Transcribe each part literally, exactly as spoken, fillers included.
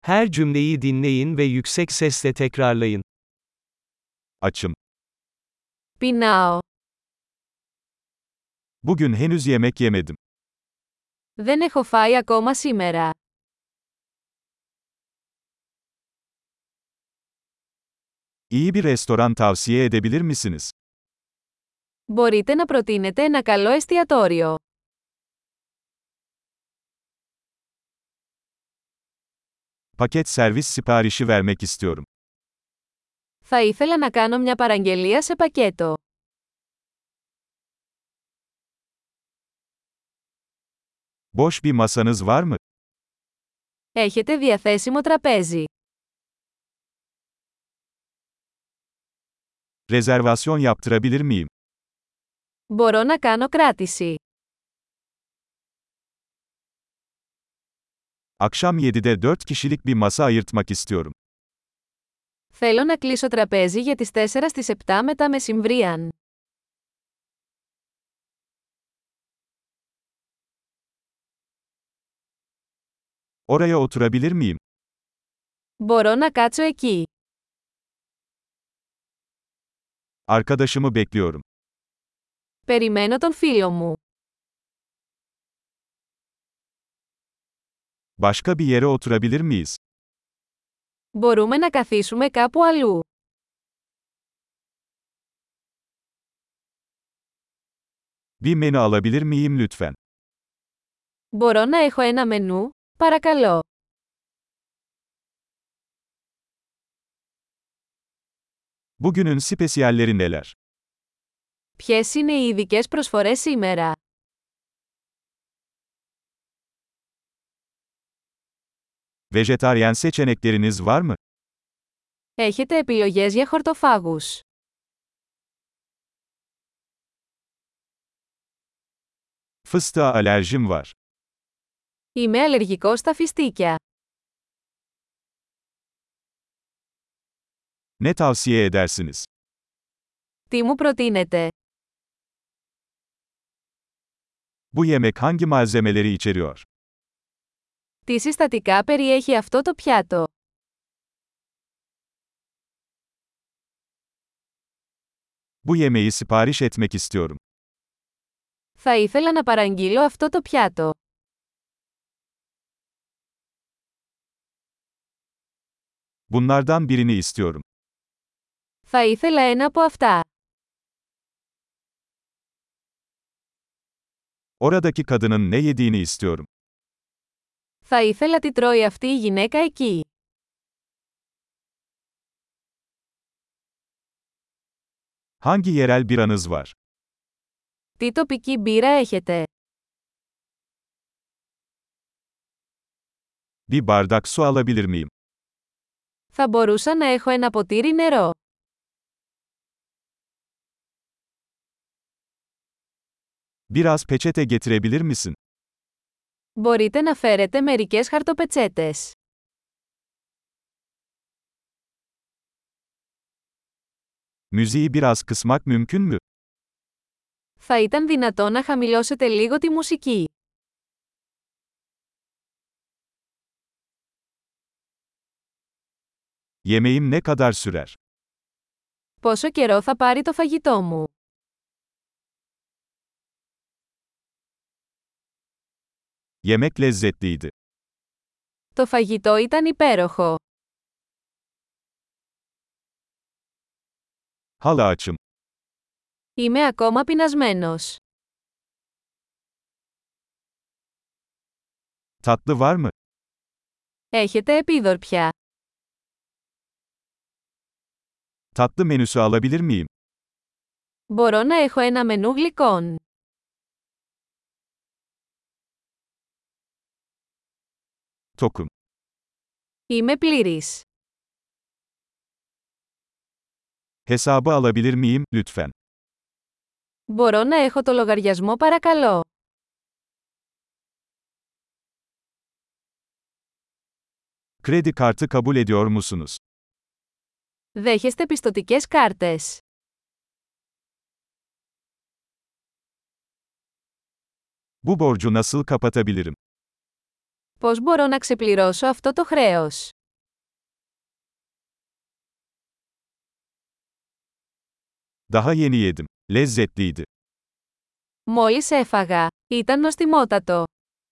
Her cümleyi dinleyin ve yüksek sesle tekrarlayın. Açım. Πεινάω. Bugün henüz yemek yemedim. Δεν έχω φάει ακόμα σήμερα. İyi bir restoran tavsiye edebilir misiniz? Μπορείτε να προτείνετε ένα καλό εστιατόριο. Paket servis siparişi vermek istiyorum. Θα ήθελα να κάνω μια παραγγελία σε πακέτο. Boş bir masanız var mı? Έχετε διαθέσιμο τραπέζι. Rezervasyon yaptırabilir miyim? Μπορώ να κάνω κράτηση. Akşam yedide dört kişilik bir masa ayırtmak istiyorum. Θέλω να κλείσω τραπέζι για τις τέσσερα στις επτά μετά μεσημβρίαν. Oraya oturabilir miyim? Μπορώ να κάτσω εκεί. Arkadaşımı bekliyorum. Περιμένω τον φίλο μου. Başka bir yere oturabilir miyiz? Μπορούμε να καθίσουμε κάπου αλλού. Bir menü alabilir miyim lütfen? Μπορώ να έχω ένα μενού, παρακαλώ. Bugünün spesiyalleri neler? Ποιες είναι οι ειδικές προσφορές σήμερα? Vejetaryen seçenekleriniz var mı? Έχετε επιλογές για χορτοφάγους. Fıstığa alerjim var. Είμαι αλλεργικός στα φιστίκια. Ne tavsiye edersiniz? Τι μου προτείνετε? Bu yemek hangi malzemeleri içeriyor? Τι συστατικά περιέχει αυτό το πιάτο? Bu yemeği sipariş etmek istiyorum. Θα ήθελα να παραγγείλω αυτό το πιάτο. Bunlardan birini istiyorum. Θα ήθελα ένα από αυτά. Oradaki kadının ne yediğini istiyorum. Θα ήθελα τι τρώει αυτή η γυναίκα εκεί. Hangi yerel biranız var? Τι τοπική μπύρα έχετε? Bir bardak su alabilir miyim? Θα μπορούσα να έχω ένα ποτήρι νερό. Biraz peçete getirebilir misin? Μπορείτε να φέρετε μερικές χαρτοπετσέτες. Müziği biraz kısmak mümkün mü? Θα ήταν δυνατό να χαμηλώσετε λίγο τη μουσική? Yemeğim ne kadar sürer? Πόσο καιρό θα πάρει το φαγητό μου? Yemek lezzetliydi. Το φαγητό ήταν υπέροχο. Hala açım. Είμαι ακόμα πεινασμένος. Tatlı var mı? Έχετε επίδορπια? Tatlı menüsü alabilir miyim? Μπορώ να έχω ένα μενού γλυκών. Tokum. Είμαι πλήρης. Hesabı alabilir miyim, lütfen? Μπορώ να έχω το λογαριασμό παρακαλώ? Kredi kartı kabul ediyor musunuz? Δέχεστε πιστωτικές κάρτες? Bu borcu nasıl kapatabilirim? Πώς μπορώ να ξεπληρώσω αυτό το χρέος? Daha yeni yedim. Lezzetliydi. Μόλις έφαγα. Ήταν νοστιμότατο.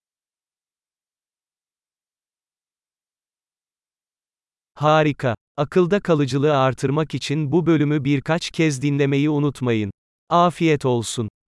Harika. Akılda kalıcılığı artırmak için bu bölümü birkaç kez dinlemeyi unutmayın. Afiyet olsun.